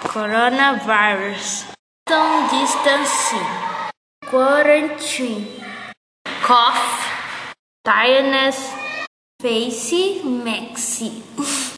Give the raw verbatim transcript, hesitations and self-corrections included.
coronavirus, social distancing, quarantine, cough, tiredness, face, maxi.